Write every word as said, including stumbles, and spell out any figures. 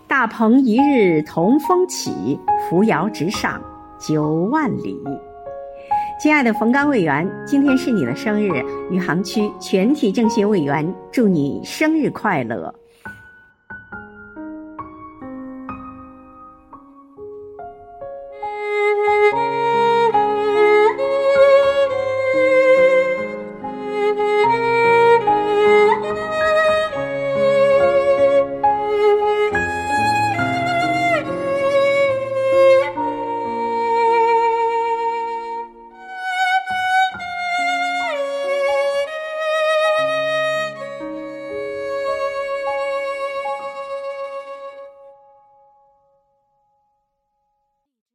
大鹏一日同风起，扶摇直上九万里。亲爱的冯刚委员，今天是你的生日，余杭区全体政协委员祝你生日快乐。